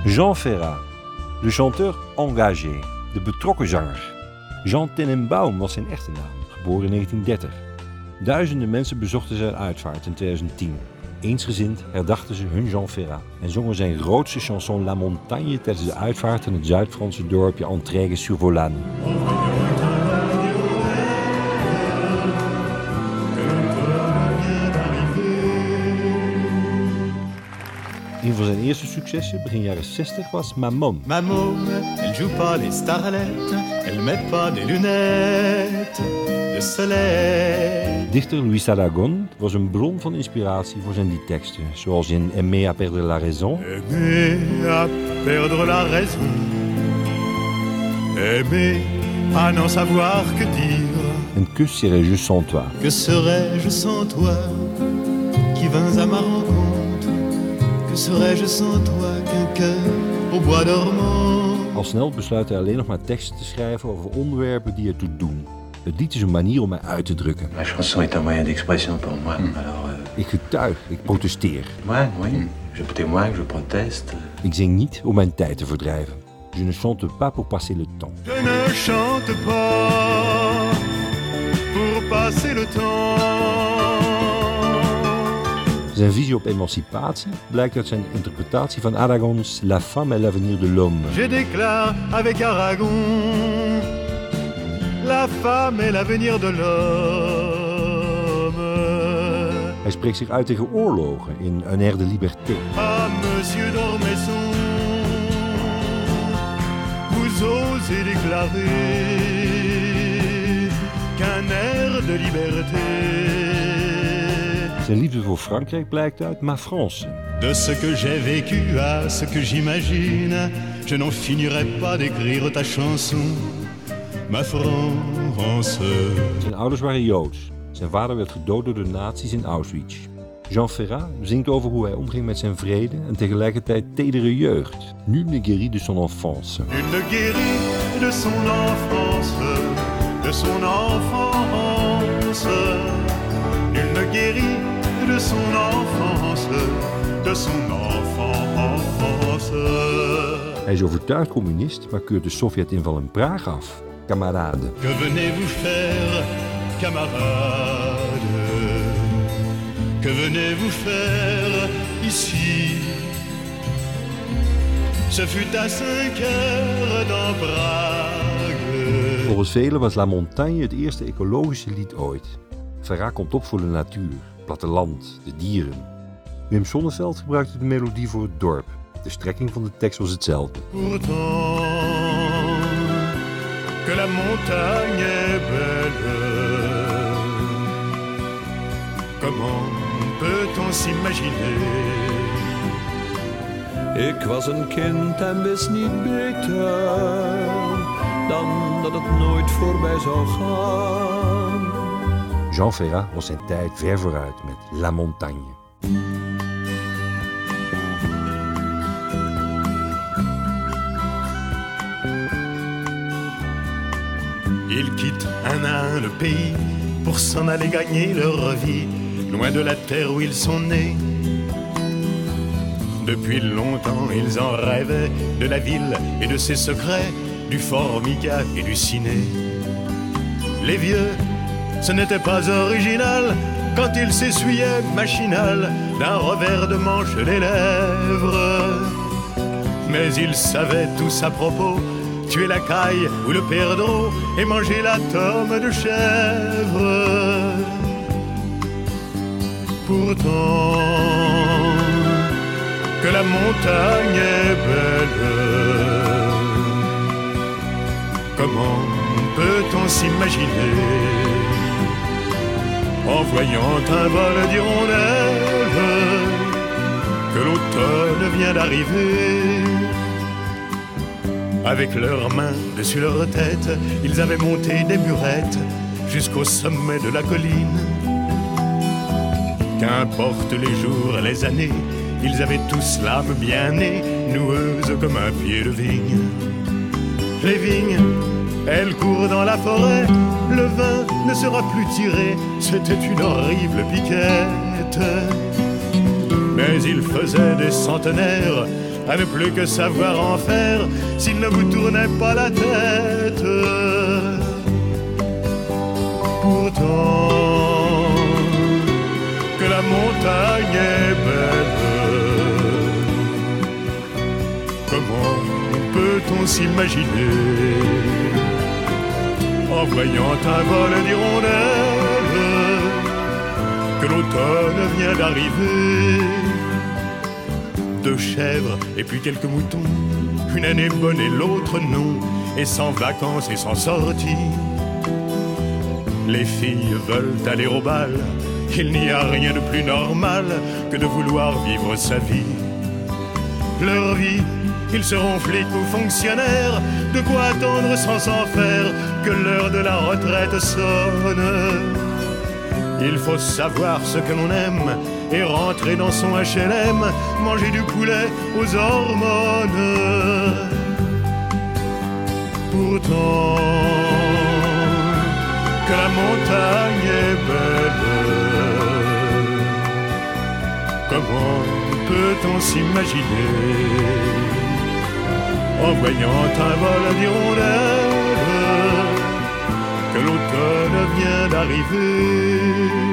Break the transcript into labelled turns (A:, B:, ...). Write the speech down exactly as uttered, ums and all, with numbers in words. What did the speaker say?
A: Jean Ferrat, de chanteur engagé, de betrokken zanger. Jean Tenenbaum was zijn echte naam, geboren in negentien dertig. Duizenden mensen bezochten zijn uitvaart in tweeduizend tien. Eensgezind herdachten ze hun Jean Ferrat en zongen zijn grootste chanson La Montagne tijdens de uitvaart in het Zuid-Franse dorpje Entraigues-sur-Volaine. Een van zijn eerste successen, begin jaren zestig, was Maman.
B: Ma môme, elle joue pas les starlettes, elle met pas des lunettes de soleil.
A: Dichter Luis Aragon was een bron van inspiratie voor zijn liedteksten, zoals in Aimer à perdre la raison.
B: Aimer à perdre la raison, aimer à n'en savoir que dire.
A: En Que serais-je sans toi?
B: Que serais-je sans toi, qui vins à ma rencontre? Que serais-je sans toi qu'un cœur au bois dormant?
A: Al snel besluit hij alleen nog maar teksten te schrijven over onderwerpen die ertoe doen. Het lied is een manier om mij uit te drukken.
C: La chanson est un moyen d'expression pour moi. Mm. Alors, euh...
A: Ik getuig, ik protesteer.
C: Ouais, oui. Mm. Je témoigne, je proteste.
A: Ik zing niet om mijn tijd te verdrijven. Je ne chante pas pour passer le temps.
B: Je ne chante pas pour passer le temps.
A: Zijn visie op emancipatie blijkt uit zijn interpretatie van Aragon's La femme et l'avenir de l'homme.
B: Je déclare avec Aragon, la femme est l'avenir de l'homme.
A: Hij spreekt zich uit tegen oorlogen in Un air de liberté.
B: Ah, monsieur d'Ormesson, vous osez déclarer qu'un air de liberté.
A: Zijn liefde voor Frankrijk blijkt uit Ma France.
B: De ce que j'ai vécu à ce que j'imagine, je n'en finirai pas d'écrire ta chanson, ma France.
A: Zijn ouders waren Joods. Zijn vader werd gedood door de nazi's in Auschwitz. Jean Ferrat zingt over hoe hij omging met zijn vrede en tegelijkertijd tedere jeugd. Nul ne guérit de son enfance.
B: Nul ne guérit de son enfance, de son enfance. Nul ne guérit de son enfance, de son enfance.
A: Hij is overtuigd communist, maar keurt de Sovjet-inval in Praag af. Camarade.
B: Que venez-vous faire, camarade? Que venez-vous faire ici? Ce fut à cinq heures dans Prague.
A: Volgens velen was La Montagne het eerste ecologische lied ooit. Ferrat komt op voor de natuur, het platteland, de dieren. Wim Sonneveld gebruikte de melodie voor het dorp. De strekking van de tekst was hetzelfde.
B: Pourtant, que la montagne est belle, comment peut-on s'imaginer?
D: Ik was een kind en wist niet beter dan dat het nooit voorbij zou gaan.
A: Jean Ferrat was zijn tijd ver vooruit met La Montagne.
B: Ils quittent un à un le pays pour s'en aller gagner leur vie, loin de la terre où ils sont nés. Depuis longtemps, ils en rêvaient de la ville et de ses secrets, du Formica et du ciné. Les vieux, ce n'était pas original quand ils s'essuyaient machinal d'un revers de manche les lèvres. Mais ils savaient tous à propos tuer la caille ou le perdreau et manger la tome de chèvre. Pourtant, que la montagne est belle, comment peut-on s'imaginer en voyant un vol d'hirondelles que l'automne vient d'arriver? Avec leurs mains dessus leur tête, ils avaient monté des murettes jusqu'au sommet de la colline. Qu'importe les jours, les années, ils avaient tous l'âme bien née, noueuse comme un pied de vigne. Les vignes, elles courent dans la forêt, le vin ne sera plus tiré, c'était une horrible piquette. Mais ils faisaient des centenaires à ne plus que savoir en faire s'il ne vous tournait pas la tête. Pourtant, que la montagne est belle, comment peut-on s'imaginer, en voyant un vol d'hirondelles, que l'automne vient d'arriver? Deux chèvres et puis quelques moutons, une année bonne et l'autre non, et sans vacances et sans sortie. Les filles veulent aller au bal, il n'y a rien de plus normal que de vouloir vivre sa vie. Leur vie, ils seront flics ou fonctionnaires, de quoi attendre sans s'en faire que l'heure de la retraite sonne. Il faut savoir ce que l'on aime et rentrer dans son H L M, manger du poulet aux hormones. Pourtant, que la montagne est belle, comment peut-on s'imaginer, en voyant un vol d'hirondelles, que l'automne vient d'arriver?